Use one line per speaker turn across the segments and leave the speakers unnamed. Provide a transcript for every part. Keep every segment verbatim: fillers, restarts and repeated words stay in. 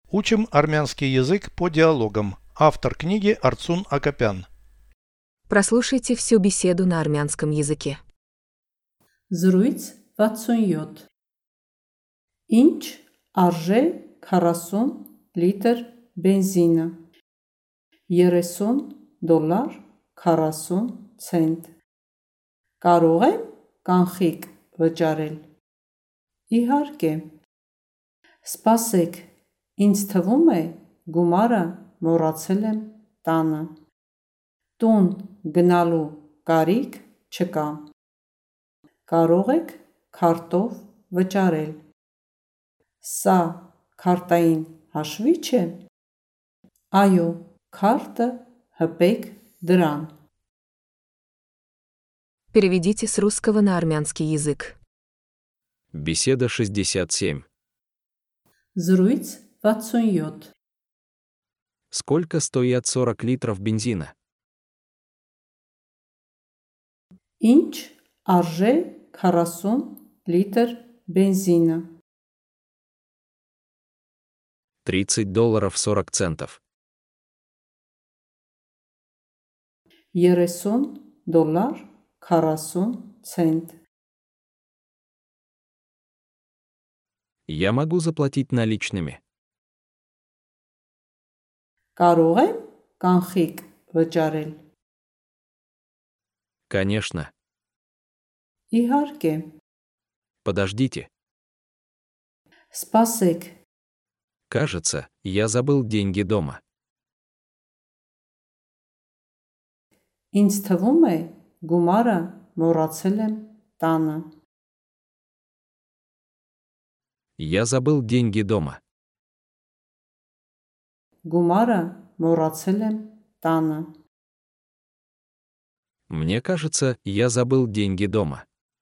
Учим армянский язык по диалогам. Автор книги Арцун Акопян.
Прослушайте всю беседу на армянском языке.
Զրույց վաթսունյոթ Ինչ արժե քառասուն լիտր բենզինը երեսուն դոլար քառասուն ցենտ Կարող եմ կանխիկ վճարել Իհարկե Սպասեք ինձ թվում է գումարը մոռացել եմ տանը Տուն գնալու կարիք չկա Կարող եք քարտով վճարել Սա քարտային հաշվի՞չ է Այո, քարտը հպեք դրան
Переведите с русского на армянский язык.
Беседа шестьдесят семь.
Զրույց վաթսունյոթ
Сколько стоят сорок литров бензина?
Ինչ արժե քառասուն լիտր բենզինը
тридцать долларов сорок центов.
երեսուն դոլար քառասուն ցենտ
Я могу заплатить наличными.
Կարող եմ կանխիկ վճարել
Конечно.
Իհարկե
Подождите.
Սպասեք
Кажется, я забыл деньги дома.
Ինձ թվում է գումարը մոռացել եմ տանը
Я забыл деньги дома.
Գումարը մոռացել եմ տանը
Мне кажется, я забыл деньги дома.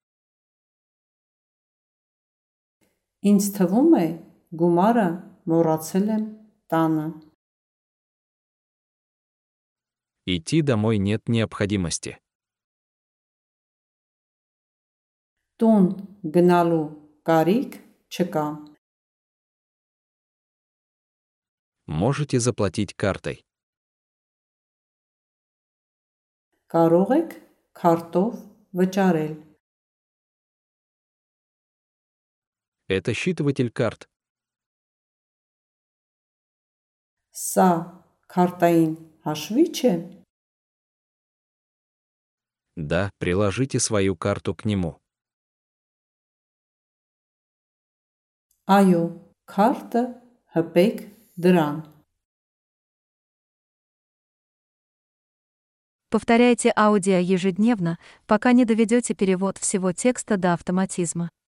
Ինձ թվում է գումարը մոռացել եմ տանը
Идти домой нет необходимости.
Տուն գնալու կարիք չկա
Можете заплатить картой.
Կարող եք քարտով վճարել
Это считыватель карт.
Սա քարտային հաշվի՞չ է
Да, приложите свою карту к нему.
Այո, քարտը հպեք դրան
Повторяйте аудио ежедневно, пока не доведете перевод всего текста до автоматизма.